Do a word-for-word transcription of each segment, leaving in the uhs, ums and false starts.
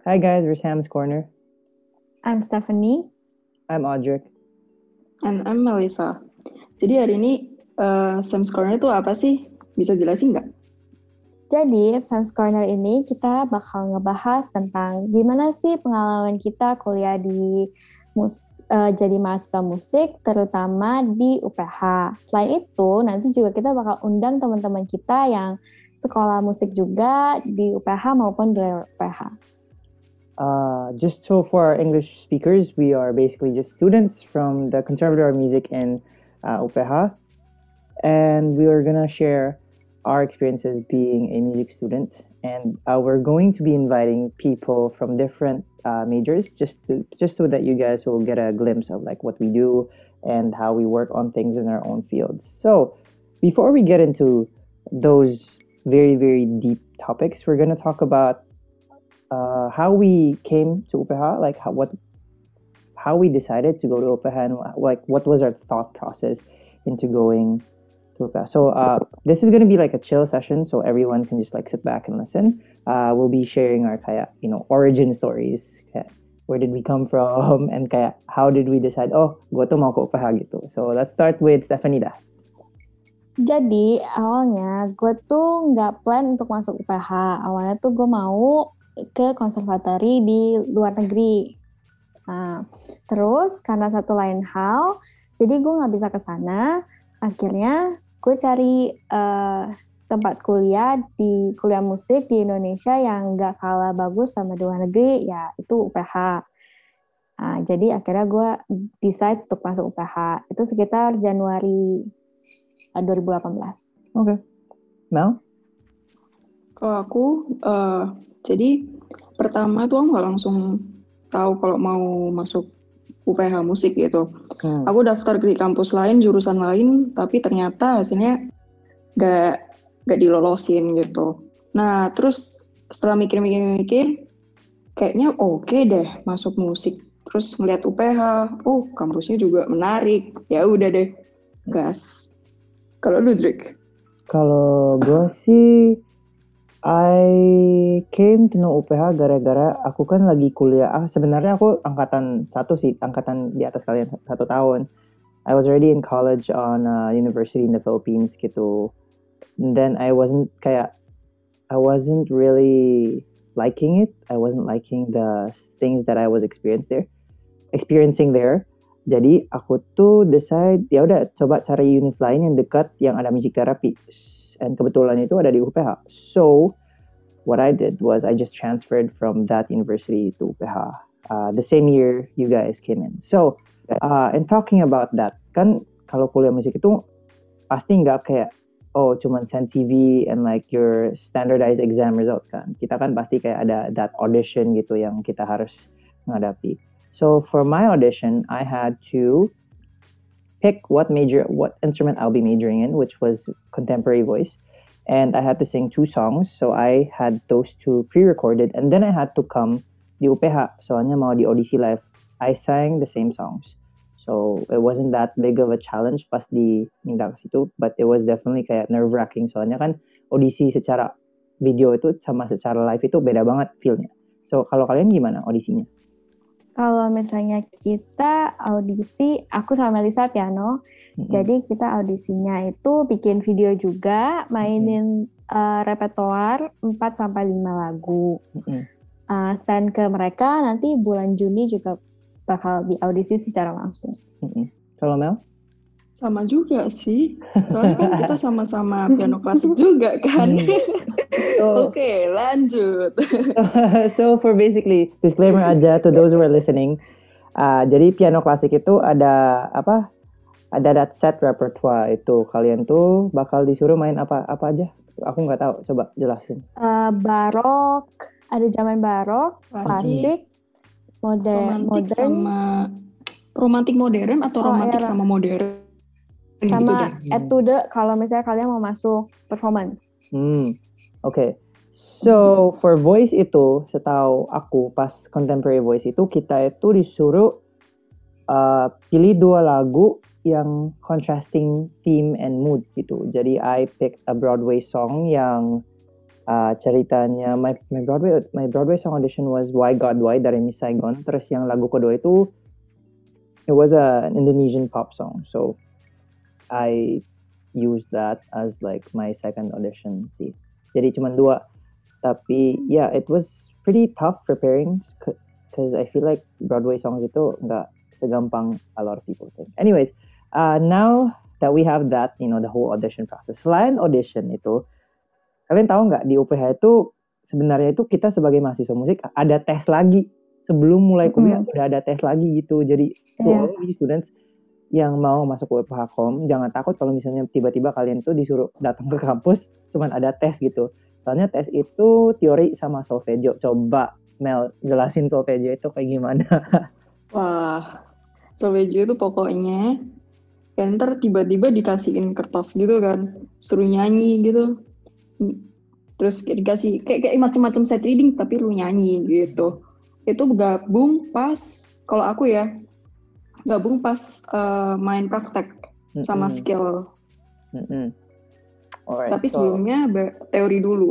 Hi guys, we're Sam's Corner. I'm Stephanie. I'm Audric. And I'm Melissa. Jadi hari ini uh, Sam's Corner itu apa sih? Bisa jelasin nggak? Jadi, Sam's Corner ini kita bakal ngebahas tentang gimana sih pengalaman kita kuliah di mus- uh, jadi mahasiswa musik, terutama di U P H. Selain itu, nanti juga kita bakal undang teman-teman kita yang sekolah musik juga di U P H maupun di luar U P H. Uh, just so for our English speakers, we are basically just students from the Conservatoire of Music in uh, U P H, and we are gonna share our experiences being a music student. And uh, we're going to be inviting people from different uh, majors, just to, just so that you guys will get a glimpse of like what we do and how we work on things in our own fields. So before we get into those very very deep topics, we're gonna talk about uh, how we came to U P H, like how what how we decided to go to U P H, and like what was our thought process into going to U P H. So uh, this is gonna be like a chill session, so everyone can just like sit back and listen. Uh, we'll be sharing our kaya, you know, origin stories. Kaya, where did we come from, and kaya how did we decide? Oh, gue tuh mau ke U P H gitu. So let's start with Stephanie dah. Jadi, awalnya gue tuh nggak plan untuk masuk U P H. Awalnya tuh gue mau ke konservatori di luar negeri. Nah, terus karena satu lain hal, jadi gue nggak bisa ke sana. Akhirnya gue cari uh, tempat kuliah di kuliah musik di Indonesia yang nggak kalah bagus sama di luar negeri, ya itu U P H. Nah, jadi akhirnya gue decide untuk masuk U P H. Itu sekitar Januari uh, dua ribu delapan belas. Oke, okay. Mel? Kalau aku, uh, jadi pertama tuh aku nggak langsung tahu kalau mau masuk U P H musik gitu. Hmm. Aku daftar di kampus lain, jurusan lain, tapi ternyata hasilnya gak, gak dilolosin gitu. Nah, terus setelah mikir-mikir-mikir, kayaknya oke okay deh masuk musik. Terus ngeliat U P H, oh kampusnya juga menarik. Ya udah deh, gas. Kalau lu, Drake? Kalau gue sih, I came to know U P H gara-gara aku kan lagi kuliah. Ah, sebenarnya aku angkatan satu sih, angkatan di atas kalian satu tahun. I was already in college on a university in the Philippines gitu. And then I wasn't kayak, I wasn't really liking it. I wasn't liking the things that I was experiencing there, experiencing there. Jadi aku tuh decide ya udah coba cari univ lain yang dekat yang ada music therapy. And kebetulan itu ada di U P H. So what I did was I just transferred from that university to U P H. Uh, the same year you guys came in. So uh, and talking about that, kan kalau kuliah musik itu pasti nggak kayak oh cuman send C V and like your standardized exam result kan. Kita kan pasti kayak ada that audition gitu yang kita harus menghadapi. So for my audition, I had to pick what major, what instrument I'll be majoring in, which was contemporary voice. And I had to sing two songs, so I had those two pre-recorded, and then I had to come di U P H, soalnya mau di audisi live. I sang the same songs. So it wasn't that big of a challenge pas di minta ke situ, but it was definitely kayak nerve-wracking, soalnya kan audisi secara video itu sama secara live itu beda banget feel-nya. So kalau kalian gimana audisinya? Kalau misalnya kita audisi, aku sama Melissa piano, mm-hmm. jadi kita audisinya itu bikin video juga, mainin mm-hmm. uh, repertoar empat sampai lima lagu. Mm-hmm. Uh, send ke mereka, nanti bulan Juni juga bakal diaudisi secara langsung. Mm-hmm. Kalau Mel? Sama juga sih, soalnya kan kita sama-sama piano klasik juga kan. So, Oke, okay, lanjut. So for basically disclaimer aja to those who are listening, uh, jadi piano klasik itu ada apa? Ada that set repertoire itu. Kalian tuh bakal disuruh main apa apa aja? Aku nggak tahu. Coba jelasin. Uh, barok, ada zaman barok, klasik, modern, romantik modern, sama romantik modern atau oh, romantik era. sama modern. Sama gitu etude kalau misalnya kalian mau masuk performance. Hmm, oke. Okay. So for voice itu, setahu aku pas contemporary voice itu kita itu disuruh uh, pilih dua lagu yang contrasting theme and mood gitu. Jadi I picked a Broadway song yang uh, ceritanya my my Broadway my Broadway song audition was Why God Why dari Miss Saigon. Terus yang lagu kedua itu it was a, an Indonesian pop song. So I used that as like my second audition sih. Jadi cuma dua. Tapi yeah, it was pretty tough preparing because I feel like Broadway songs itu nggak segampang a lot of people think. Anyways, uh, now that we have that, you know, the whole audition process. Selain audition itu, kalian tahu nggak di U P H itu sebenarnya itu kita sebagai mahasiswa musik ada tes lagi sebelum mulai kuliah, mm-hmm. udah ada tes lagi gitu. Jadi to yeah. all these students yang mau masuk U P H Kom, jangan takut kalau misalnya tiba-tiba kalian tuh disuruh datang ke kampus, cuman ada tes gitu. Soalnya tes itu teori sama solfeggio. Coba Mel jelasin solfeggio itu kayak gimana? Wah, solfeggio itu pokoknya ya ntar tiba-tiba dikasihin kertas gitu kan, suruh nyanyi gitu. Terus kayak dikasih kayak, kayak macam-macam set reading tapi lu nyanyi gitu. Itu gabung pas, kalau aku ya, gabung pas uh, main praktek mm-hmm. sama skill. Mm-hmm. Alright, tapi so, sebelumnya be- teori dulu.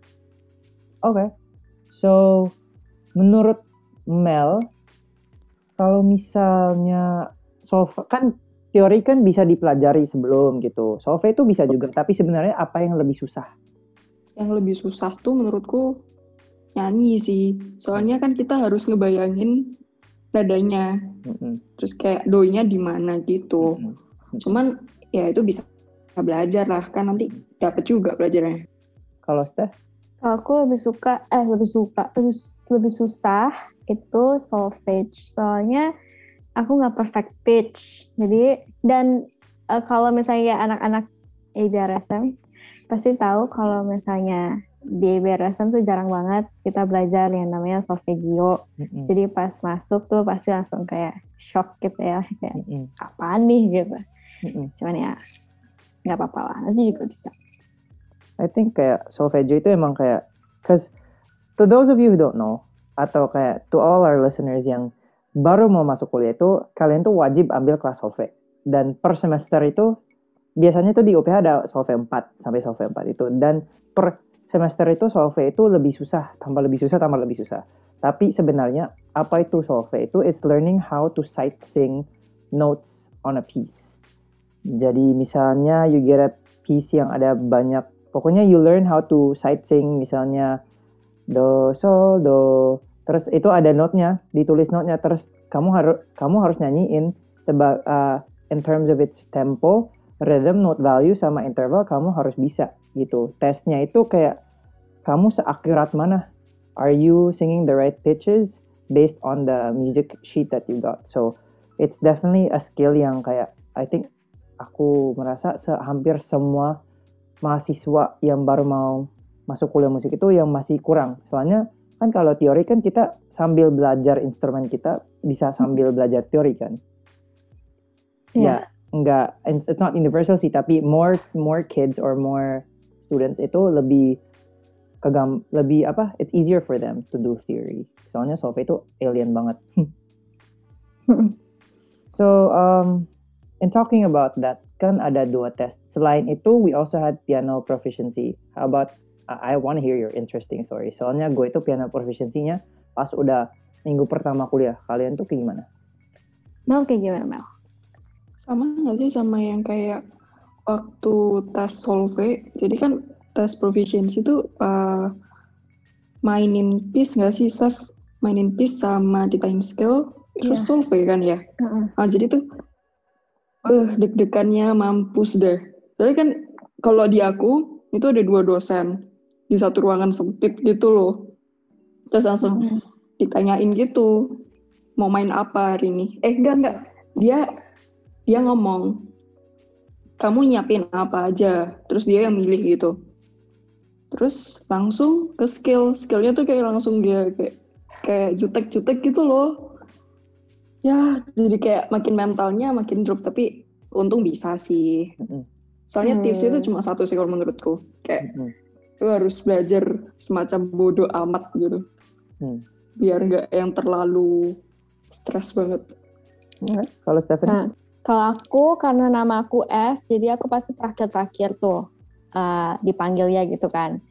Oke. Okay. So, menurut Mel, kalau misalnya solve kan teori kan bisa dipelajari sebelum gitu. Solve itu bisa juga, tapi sebenarnya apa yang lebih susah? Yang lebih susah tuh menurutku nyanyi sih. Soalnya kan kita harus ngebayangin nadanya. Mm-hmm. Terus kayak doinya di mana gitu. Mm-hmm. Cuman ya itu bisa belajar lah, kan nanti dapat juga belajarnya. Kalau Steph? Kalau aku lebih suka, eh lebih suka, lebih, lebih susah itu solfege. Soalnya aku nggak perfect pitch. Jadi, dan uh, kalau misalnya anak-anak A B R S M, pasti tahu kalau misalnya di A B R S M tuh jarang banget kita belajar yang namanya solfeggio. Mm-hmm. Jadi pas masuk tuh pasti langsung kayak shock gitu ya. Kayak, mm-hmm. apaan nih gitu. Mm-hmm. Cuman ya, nggak apa-apa lah, nanti juga bisa. I think kayak solfeggio itu emang kayak, cause to those of you who don't know, atau kayak to all our listeners yang baru mau masuk kuliah itu, kalian tuh wajib ambil kelas solfe. Dan per semester itu, biasanya tuh di U P H ada solfe empat, sampai solfe empat itu. Dan per semester itu solfe itu lebih susah, tambah lebih susah, tambah lebih susah. Tapi sebenarnya, apa itu solfe itu? It's learning how to sight sing notes on a piece. Jadi misalnya you get a piece yang ada banyak, pokoknya you learn how to sight sing misalnya do, sol, do, terus itu ada note-nya, ditulis note-nya, terus kamu harus kamu harus nyanyiin seba, uh, in terms of its tempo, rhythm, note value, sama interval kamu harus bisa gitu. Tesnya itu kayak kamu seakurat mana? Are you singing the right pitches based on the music sheet that you got? So it's definitely a skill yang kayak I think aku merasa se- hampir semua mahasiswa yang baru mau masuk kuliah musik itu yang masih kurang. Soalnya kan kalau teori kan kita sambil belajar instrumen kita bisa sambil belajar teori kan. Yeah. Ya, enggak, it's not universal sih, tapi more more kids or more students itu lebih kegam, lebih apa? It's easier for them to do theory. Soalnya solve itu alien banget. So, um and talking about that, kan ada dua tes. Selain itu, we also had piano proficiency. How about, uh, I want to hear your interesting story. Soalnya gue itu piano proficiency-nya pas udah minggu pertama kuliah. Kalian tuh kayak gimana? Mel kayak gimana, Mel? Sama nggak sih sama yang kayak waktu tes solve. Jadi kan tes proficiency itu uh, mainin piece nggak sih, Steph? Mainin piece sama ditain skill, terus yeah. solve kan ya? Uh-uh. Nah, jadi tuh Uh, deg-degannya mampus deh. Jadi kan kalau di aku itu ada dua dosen di satu ruangan sempit gitu loh. Terus langsung mm-hmm. ditanyain gitu, mau main apa hari ini? Eh enggak enggak. Dia dia ngomong, kamu nyiapin apa aja. Terus dia yang milih gitu. Terus langsung ke skill. Skillnya tuh kayak langsung dia kayak kayak jutek-jutek gitu loh. Ya, jadi kayak makin mentalnya makin drop, tapi untung bisa sih. Soalnya hmm. tips itu cuma satu sih kalau menurutku. Kayak hmm. lu harus belajar semacam bodoh amat gitu. Hmm. Biar nggak yang terlalu stres banget. Hmm. Kalau Stephanie? Nah, kalau aku, karena nama aku S, jadi aku pasti terakhir-terakhir tuh uh, dipanggil ya gitu kan.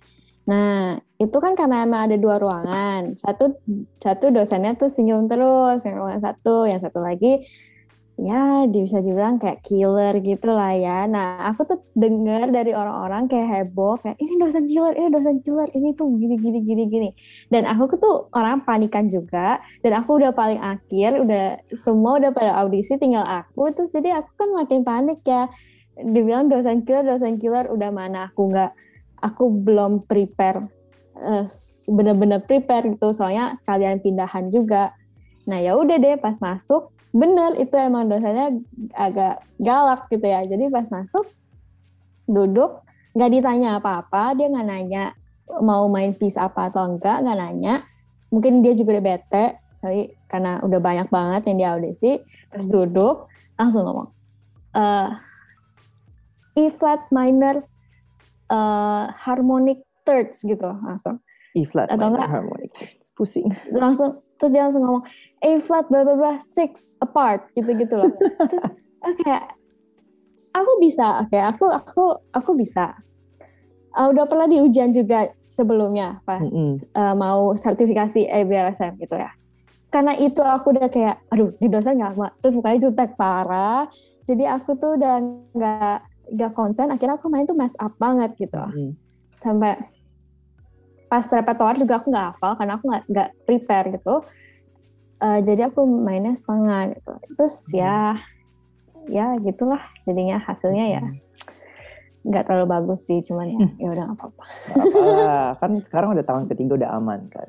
Nah, itu kan karena emang ada dua ruangan. Satu satu dosennya tuh senyum terus, yang ruangan satu, yang satu lagi ya bisa dibilang kayak killer gitu lah ya. Nah, aku tuh dengar dari orang-orang kayak heboh, kayak ini dosen killer, ini dosen killer, ini tuh gini gini gini gini. Dan aku tuh orang panikan juga, dan aku udah paling akhir, udah semua udah pada audisi, tinggal aku. Terus jadi aku kan makin panik ya. Dibilang dosen killer, dosen killer, udah mana aku nggak, aku belum prepare, uh, bener-bener prepare gitu, soalnya sekalian pindahan juga. Nah ya udah deh, pas masuk bener itu emang dosennya agak galak gitu ya. Jadi pas masuk duduk nggak ditanya apa-apa, dia nggak nanya mau main piece apa atau enggak, nggak nanya. Mungkin dia juga udah bete tapi karena udah banyak banget yang di audisi. Terus duduk langsung ngomong uh, E flat minor uh, harmonic thirds gitu langsung. E flat atau minor enggak harmonic thirds, pusing langsung. Terus dia langsung ngomong A flat bla bla bla six apart gitu-gitu loh. Terus oke, okay, aku bisa, oke, okay, aku aku aku bisa. Uh, udah pernah di ujian juga sebelumnya pas mm-hmm. uh, mau sertifikasi E B R S M gitu ya. Karena itu aku udah kayak, aduh, di dosen nggak lama, terus mukanya jutek parah. Jadi aku tuh udah nggak nggak konsen. Akhirnya aku main tuh mess up banget gitu. Mm-hmm. Sampai pas repertoire juga aku nggak hafal karena aku nggak nggak prepare gitu. Uh, jadi aku mainnya setengah gitu. Terus hmm. ya, ya gitulah jadinya hasilnya ya nggak terlalu bagus sih, cuman ya ya udah nggak apa-apa. Apalah, kan sekarang udah tahun ketiga udah aman kan.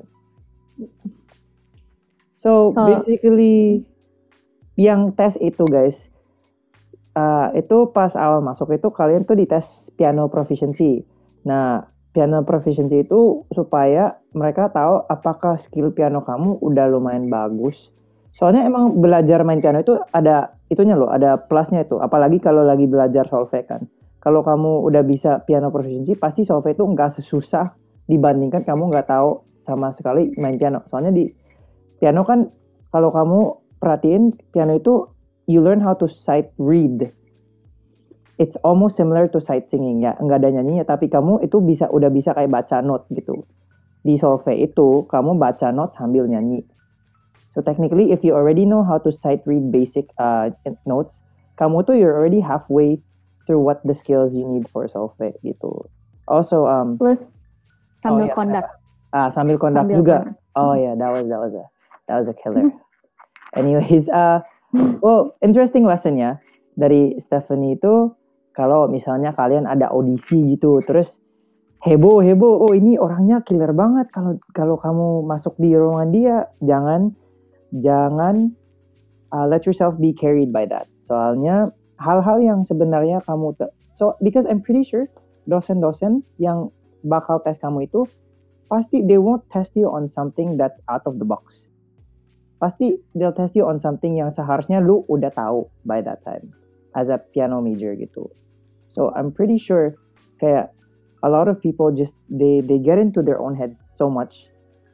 So oh. basically yang tes itu guys, uh, itu pas awal masuk itu kalian tuh dites piano proficiency. Nah piano proficiency itu supaya mereka tahu apakah skill piano kamu udah lumayan bagus. Soalnya emang belajar main piano itu ada itunya loh, ada plusnya itu. Apalagi kalau lagi belajar solfege kan. Kalau kamu udah bisa piano proficiency, pasti solfege itu nggak sesusah dibandingkan kamu nggak tahu sama sekali main piano. Soalnya di piano kan kalau kamu perhatiin piano itu you learn how to sight read. It's almost similar to sight singing ya, nggak ada nyanyinya tapi kamu itu bisa udah bisa kayak baca note gitu. Di solfege itu kamu baca note sambil nyanyi. So technically if you already know how to sight read basic uh, notes, kamu tuh you're already halfway through what the skills you need for solfege gitu. Also um plus sambil oh, yeah, conduct. Ah sambil conduct sambil juga. Conduct. Oh yeah, that was that was a that was a killer. Anyways, uh well interesting lesson ya dari Stephanie itu. Kalau misalnya kalian ada audisi gitu, terus heboh heboh, oh ini orangnya killer banget. Kalau kalau kamu masuk di ruangan dia, jangan jangan uh, let yourself be carried by that. Soalnya hal-hal yang sebenarnya kamu te- so because I'm pretty sure dosen-dosen yang bakal tes kamu itu pasti they won't test you on something that's out of the box. Pasti they'll test you on something yang seharusnya lu udah tahu by that time as a piano major gitu. So I'm pretty sure kayak a lot of people just they they get into their own head so much.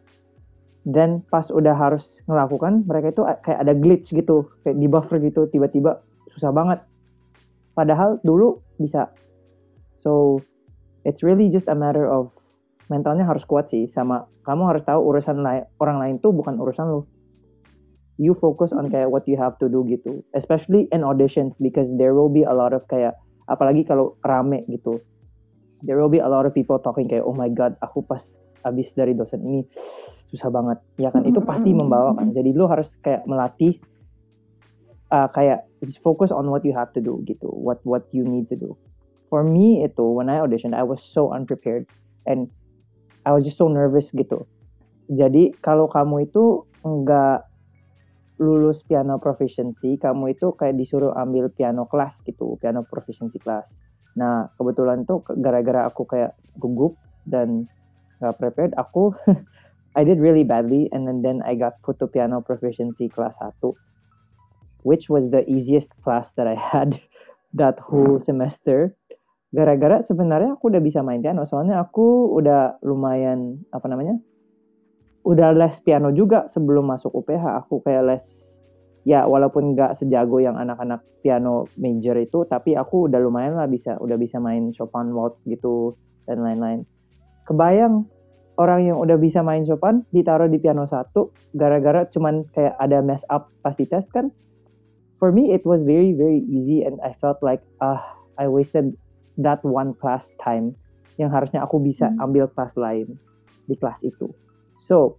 Then pas udah harus ngelakukan, mereka itu kayak ada glitch gitu, kayak di buffer gitu, tiba-tiba susah banget. Padahal dulu bisa. So it's really just a matter of mentalnya harus kuat sih, sama kamu harus tahu urusan lain, orang lain tuh bukan urusan lu. You focus on kayak what you have to do gitu, especially in auditions because there will be a lot of kayak apalagi kalau rame gitu, there will be a lot of people talking kayak oh my god aku pas abis dari dosen ini susah banget ya kan, itu pasti membawa kan. Jadi lu harus kayak melatih uh, kayak just focus on what you have to do gitu, what what you need to do. For me itu when I auditioned I was so unprepared and I was just so nervous gitu. Jadi kalau kamu itu enggak lulus piano proficiency, kamu itu kayak disuruh ambil piano kelas gitu, piano proficiency class. Nah, kebetulan tuh gara-gara aku kayak gugup dan gak prepared, aku I did really badly and then, then I got put to piano proficiency class one, which was the easiest class that I had that whole semester. Gara-gara sebenarnya aku udah bisa main piano, soalnya aku udah lumayan, apa namanya, udah les piano juga sebelum masuk U P H. Aku kayak les, ya walaupun nggak sejago yang anak-anak piano major itu, tapi aku udah lumayan lah bisa, udah bisa main Chopin waltz gitu dan lain-lain. kebayang orang yang udah bisa main Chopin ditaruh di piano satu gara-gara cuman kayak ada mess up pas di tes kan. For me it was very very easy and I felt like ah uh, I wasted that one class time yang harusnya aku bisa hmm. ambil kelas lain di kelas itu. So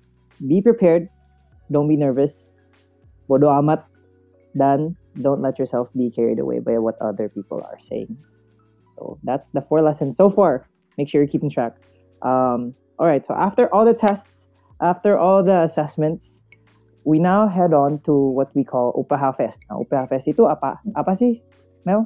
be prepared, don't be nervous, bodo amat, dan don't let yourself be carried away by what other people are saying. So that's the four lessons so far. Make sure you're keeping track. Um, all right, so after all the tests, after all the assessments, we now head on to what we call U P H Fest. Nah, U P H Fest itu apa? Apa sih, Mel?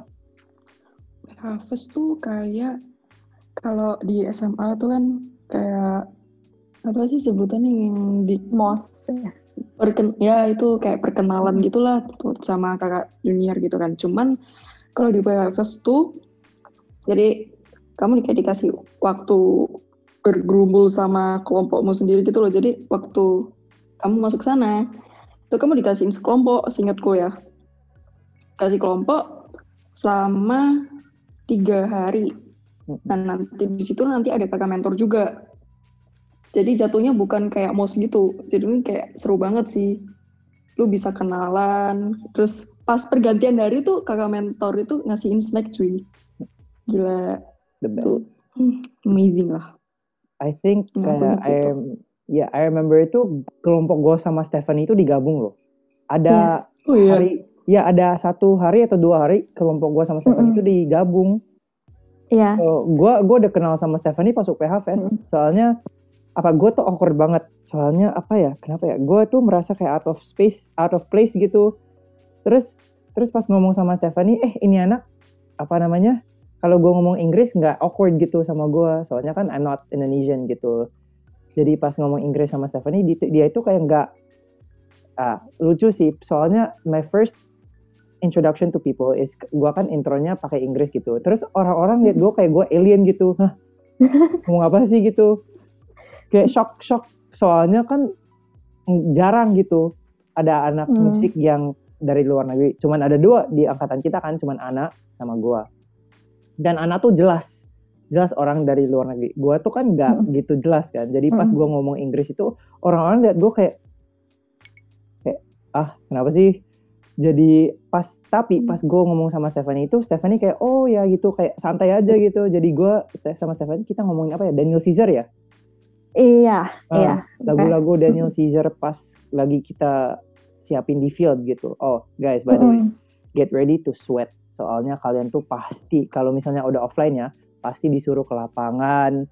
U P H Fest tuh kayak kalau di S M A tuh kan kayak apa sih sebutannya yang di M O S perken ya itu kayak perkenalan gitulah sama kakak junior gitu kan. Cuman kalau di U P H Fest tuh jadi kamu kayak dikasih waktu bergerumbul sama kelompokmu sendiri gitu loh. Jadi waktu kamu masuk sana, itu kamu dikasih sekelompok, seingatku ya. Kasih kelompok selama tiga hari. Dan nanti di situ nanti ada kakak mentor juga. Jadi jatuhnya bukan kayak M O S gitu. Jadi ini kayak seru banget sih. Lu bisa kenalan. Terus pas pergantian hari tuh kakak mentor itu ngasihin snack cuy. Gila. The best. Tuh, amazing lah. I think kayak I am, ya yeah, I remember itu kelompok gue sama Stephanie itu digabung loh. Ada yeah. oh, iya. hari, ya ada satu hari atau dua hari kelompok gue sama Stephanie mm-hmm. itu digabung. Iya. Yeah. So, gue gue udah kenal sama Stephanie pas U P H Fest. Mm-hmm. Soalnya apa gue tuh awkward banget. Soalnya apa ya? Kenapa ya? Gue tuh merasa kayak out of space, out of place gitu. Terus terus pas ngomong sama Stephanie, eh ini anak apa namanya? Kalau gue ngomong Inggris nggak awkward gitu sama gue, soalnya kan I'm not Indonesian gitu. Jadi pas ngomong Inggris sama Stephanie, dia itu kayak nggak ah, lucu sih. Soalnya my first introduction to people is gue kan intronya pakai Inggris gitu. Terus orang-orang liat gue kayak gue alien gitu, hah ngomong apa sih gitu? Kayak shock shock. Soalnya kan jarang gitu ada anak hmm. musik yang dari luar negeri. Cuman ada dua di angkatan kita kan, cuman Ana sama gue. Dan Ana tuh jelas, jelas orang dari luar negeri. Gue tuh kan nggak mm. gitu jelas kan. Jadi pas mm. gue ngomong Inggris itu orang-orang liat gue kayak, kayak ah kenapa sih? Jadi pas tapi pas gue ngomong sama Stephanie itu, Stephanie kayak oh ya gitu kayak santai aja gitu. Jadi gue sama Stephanie kita ngomongin apa ya? Daniel Caesar ya? Iya, uh, iya. Lagu-lagu okay. Daniel Caesar pas lagi kita siapin di field gitu. Oh guys, by the way, mm. get ready to sweat. Soalnya kalian tuh pasti, kalau misalnya udah offline ya, pasti disuruh ke lapangan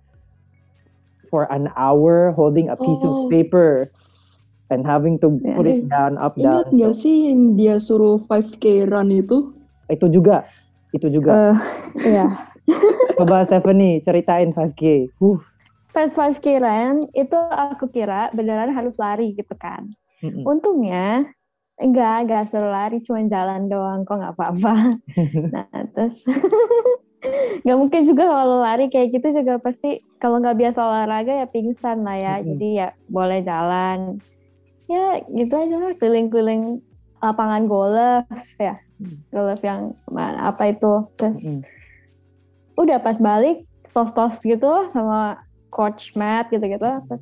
for an hour holding a piece oh. of paper and having to put it down, up, down. Ingat nggak so. sih yang dia suruh five K run itu? Itu juga, itu juga. Uh, iya. Coba Stephanie, ceritain five K. Huh. Pas five K run, itu aku kira beneran harus lari gitu kan. Mm-mm. Untungnya, Enggak, enggak suruh lari, cuma jalan doang, kok nggak apa-apa. Nah, terus nggak mungkin juga kalau lari kayak gitu juga pasti kalau nggak biasa olahraga ya pingsan lah ya. Mm-hmm. Jadi ya boleh jalan. Ya gitu aja lah, keliling-keliling lapangan golf ya. Golf yang mana, apa itu. Terus mm-hmm. udah pas balik, tos-tos gitu sama coach Matt gitu-gitu. Terus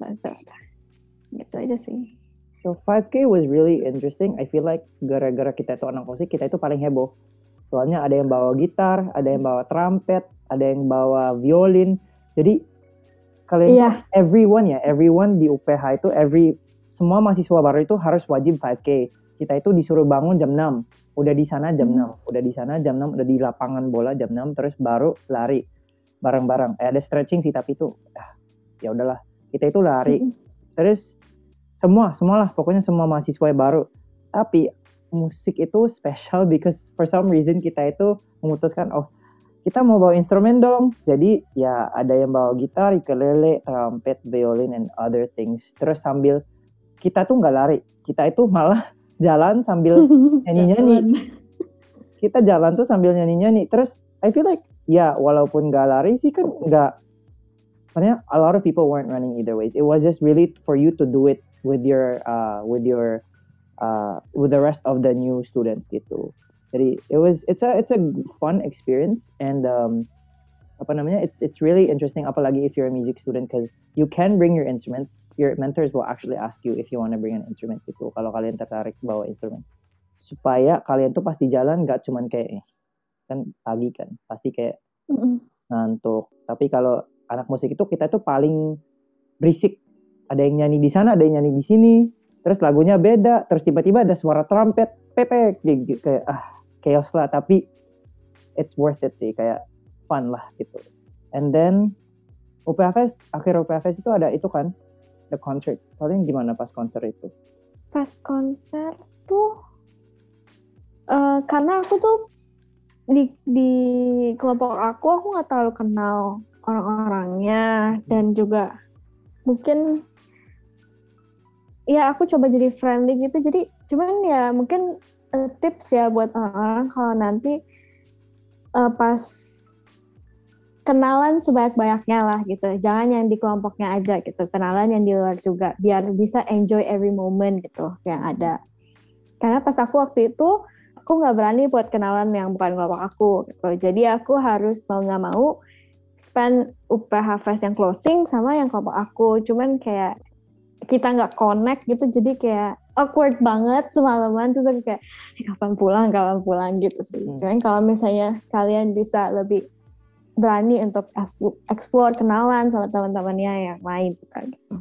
gitu aja sih. So five K was really interesting. I feel like gara-gara kita itu anak musik, kita itu paling heboh. Soalnya ada yang bawa gitar, ada yang bawa trumpet, ada yang bawa violin. Jadi kalian yeah. everyone ya, everyone di U P H itu, every semua mahasiswa baru itu harus wajib five K. Kita itu disuruh bangun jam enam, udah di sana jam hmm. enam, udah di sana jam enam, udah di lapangan bola jam enam, terus baru lari bareng-bareng. Eh, ada stretching sih tapi itu, ah, ya udahlah. Kita itu lari, hmm. terus semua, semualah pokoknya semua mahasiswa yang baru. Tapi musik itu special because for some reason kita itu memutuskan oh kita mau bawa instrumen dong. Jadi ya ada yang bawa gitar, ukulele, trumpet, violin and other things. Terus sambil kita tuh nggak lari, kita itu malah jalan sambil nyanyi-nyanyi. Kita jalan tuh sambil nyanyi-nyanyi. Terus I feel like ya walaupun nggak lari sih kan nggak. Sebenarnya a lot of people weren't running either ways. It was just really for you to do it with your uh with your uh with the rest of the new students gitu. Jadi it was it's a it's a fun experience and um apa namanya, it's it's really interesting, apalagi if you're a music student, because you can bring your instruments. Your mentors will actually ask you if you want to bring an instrument gitu, kalau kalian tertarik bawa instrumen, supaya kalian tuh pas di jalan nggak cuman kayak eh, kan pagi kan pasti kayak Mm-mm. ngantuk. Tapi kalau anak musik itu kita tuh paling berisik, ada yang nyanyi di sana, ada yang nyanyi di sini, terus lagunya beda, terus tiba-tiba ada suara trompet, pepek, kayak ah chaos lah, tapi it's worth it sih, kayak fun lah gitu. And then U P H Fest, akhir U P H Fest itu ada itu kan, the concert. Kalian gimana pas konser itu? Pas konser tuh, uh, karena aku tuh di di kelompok aku, aku nggak terlalu kenal orang-orangnya, dan juga mungkin ya aku coba jadi friendly gitu. Jadi cuman ya mungkin uh, tips ya buat orang-orang kalau nanti uh, pas kenalan sebanyak-banyaknya lah gitu. Jangan yang di kelompoknya aja gitu. Kenalan yang di luar juga, biar bisa enjoy every moment gitu yang ada. Karena pas aku waktu itu, aku nggak berani buat kenalan yang bukan kelompok aku gitu. Jadi aku harus mau nggak mau spend U P H Fest yang closing sama yang kelompok aku. Cuman kayak kita nggak connect gitu, jadi kayak awkward banget semalaman. Terus aku kayak, kapan pulang, kapan pulang gitu sih. Hmm. Cuman kalau misalnya kalian bisa lebih berani untuk explore, kenalan sama teman-temannya yang lain suka gitu.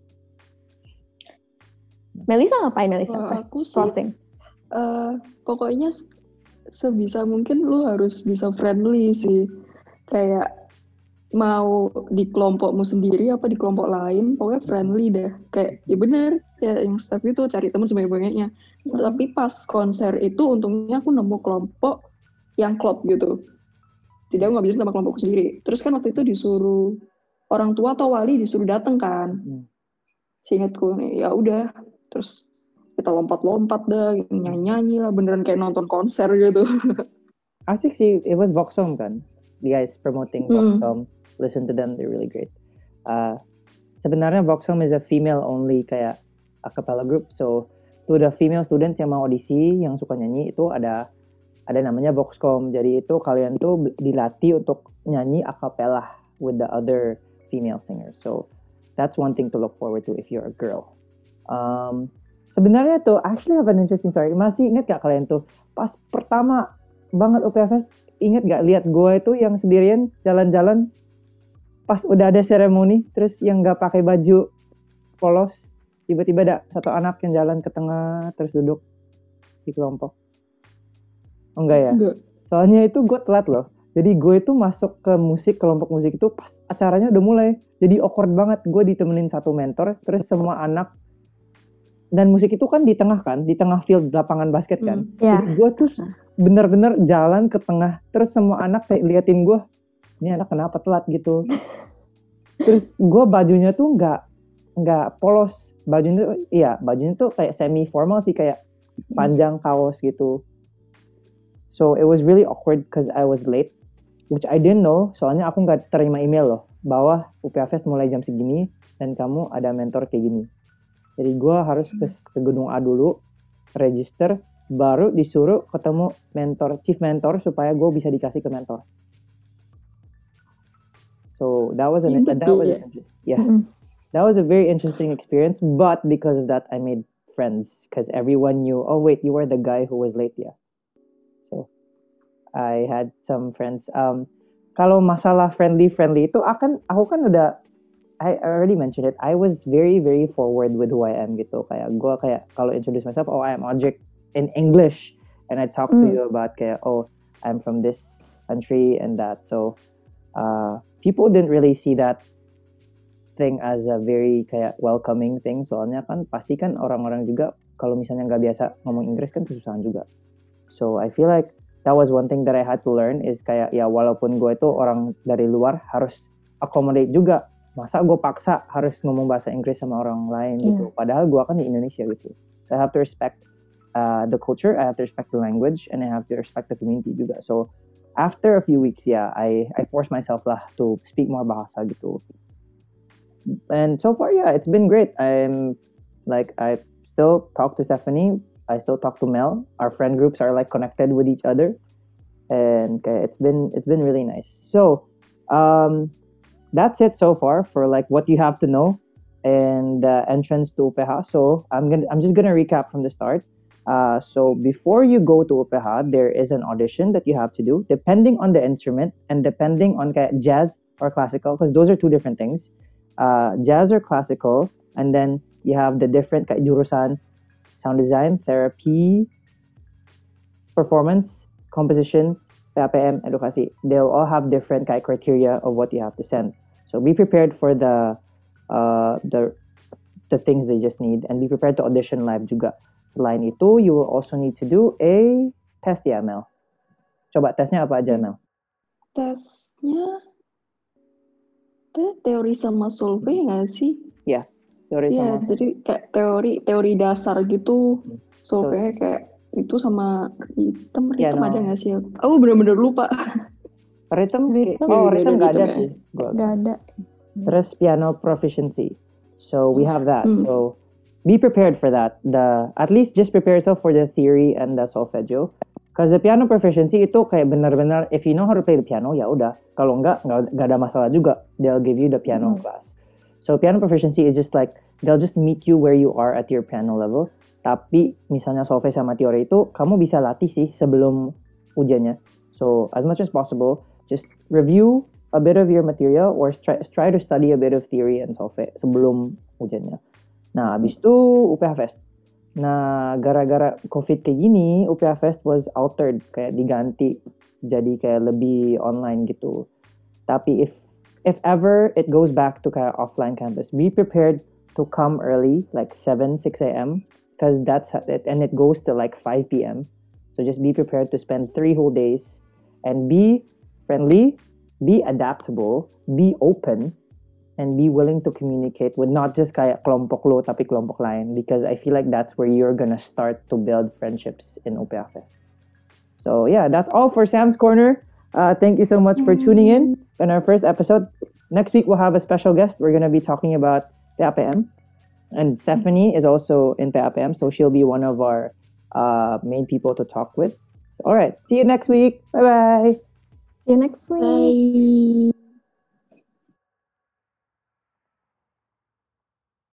Melisa ngapain Melisa oh, pas aku sih, closing? Uh, pokoknya sebisa mungkin lu harus bisa friendly sih. Kayak mau di kelompokmu sendiri apa di kelompok lain, pokoknya friendly deh. Kayak ya bener, ya yang staff itu cari teman sebanyak-banyaknya. Hmm. Tapi pas konser itu untungnya aku nemu kelompok yang klop gitu. Tidak, aku nggak bisa sama kelompokku sendiri. Terus kan waktu itu disuruh orang tua atau wali disuruh datang kan. Hmm. Seingatku nih, ya udah. Terus kita lompat-lompat dah, nyanyi-nyanyi lah, beneran kayak nonton konser gitu. Asik sih, it was Voxhome kan. The guys promoting Voxhome, hmm. listen to them, they're really great. Uh, sebenarnya Voxhome is a female-only kayak a cappella group. So, to the female students yang mau audisi, yang suka nyanyi, itu ada ada namanya Voxcom. Jadi itu kalian tuh dilatih untuk nyanyi a cappella with the other female singers. So that's one thing to look forward to if you're a girl. Um, sebenarnya tuh actually have an interesting story. Masih ingat gak kalian tuh pas pertama banget U P H Fest, ingat gak lihat gue itu yang sendirian jalan-jalan pas udah ada seremoni, terus yang gak pakai baju polos, tiba-tiba ada satu anak yang jalan ke tengah terus duduk di kelompok. Oh enggak ya? Enggak. Soalnya itu gue telat loh. Jadi gue itu masuk ke musik, kelompok musik itu pas acaranya udah mulai. Jadi awkward banget. Gue ditemenin satu mentor, terus semua anak. Dan musik itu kan di tengah kan, di tengah field lapangan basket kan. Mm, yeah. Jadi gue tuh bener-bener jalan ke tengah. Terus semua anak kayak liatin gue, ini anak kenapa telat gitu. Terus gue bajunya tuh nggak nggak polos. Bajunya tuh, iya bajunya tuh kayak semi formal sih, kayak panjang kaos gitu. So it was really awkward because I was late, which I didn't know. Soalnya aku nggak terima email loh, bahwa U P H Fest mulai jam segini dan kamu ada mentor kayak gini. Jadi gue harus ke, ke gedung A dulu, register, baru disuruh ketemu mentor, chief mentor supaya gue bisa dikasih ke mentor. So that was a that was a, yeah, mm-hmm. that was a very interesting experience. But because of that, I made friends because everyone knew. Oh wait, you were the guy who was late, yeah. I had some friends. Um, kalau masalah friendly-friendly itu akan aku kan udah I already mentioned it. I was very very forward with who I am gitu. Kayak gue kayak kalau introduce myself, oh I am Ojek in English, and I talk mm. to you about kayak oh I'm from this country and that. So uh, people didn't really see that thing as a very kayak welcoming thing. Soalnya kan pasti kan orang-orang juga kalau misalnya nggak biasa ngomong Inggris kan kesusahan juga. So I feel like that was one thing that I had to learn is kayak ya walaupun gue itu orang dari luar harus accommodate juga. Masa gue paksa harus ngomong bahasa Inggris sama orang lain gitu. Yeah. Padahal gue kan di Indonesia gitu. So I have to respect uh, the culture, I have to respect the language, and I have to respect the community juga. So after a few weeks, yeah, I I forced myself lah to speak more bahasa gitu. And so far, yeah, it's been great. I'm like I still talk to Stephanie. I still talk to Mel. Our friend groups are like connected with each other, and okay, it's been it's been really nice. So, Um, that's it so far for like what you have to know and the entrance to U P H. So I'm gonna I'm just gonna recap from the start. Uh, so before you go to U P H, there is an audition that you have to do, depending on the instrument and depending on kaya jazz or classical, because those are two different things. Uh, jazz or classical, and then you have the different kaya jurusan, sound design, therapy, performance, composition, P A P M, edukasi. They'll all have different kaya criteria of what you have to send. So be prepared for the uh, the the things they just need, and be prepared to audition live juga. Selain itu, you will also need to do a test ya, Mel. Coba tesnya apa aja, Mel? Tesnya te- teori sama solve nggak sih? Ya, teori Iya, sama. jadi kayak teori teori dasar gitu. So- Solve kayak itu sama rhythm, Ya, rhythm no. ada nggak sih? Aku bener-bener lupa. Rhythm, Rhythm. oh rhythm nggak ada Rhythm ya. sih. Gua- Gak ada. Terus piano proficiency. So we have that. Hmm. So be prepared for that. The at least just prepare yourself for the theory and the solfeggio. Because the piano proficiency itu kayak benar-benar if you know how to play the piano ya udah. Kalau enggak nggak nggak ada masalah juga. They'll give you the piano Hmm. class. So piano proficiency is just like they'll just meet you where you are at your piano level. Tapi misalnya solfe sama teori itu kamu bisa latih sih sebelum ujiannya. So as much as possible, just review a bit of your material or try, try to study a bit of theory and solve sebelum ujiannya. Nah, habis itu U P H Fest. Nah, gara-gara COVID kayak gini, U P H Fest was altered, kayak diganti jadi kayak lebih online gitu. Tapi if if ever it goes back to kayak offline campus, be prepared to come early, like seven, six a.m. because that's it, and it goes to like five p.m. So just be prepared to spend three whole days and be friendly, be adaptable, be open, and be willing to communicate with not just kayak kelompok lo tapi kelompok lain, because I feel like that's where you're gonna start to build friendships in U P H Fest. So yeah, that's all for Sam's Corner. Uh, thank you so much for tuning in in our first episode. Next week we'll have a special guest. We're gonna be talking about P A P M, and Stephanie is also in P A P M, so she'll be one of our uh, main people to talk with. All right, see you next week. Bye bye. See you next week. Bye.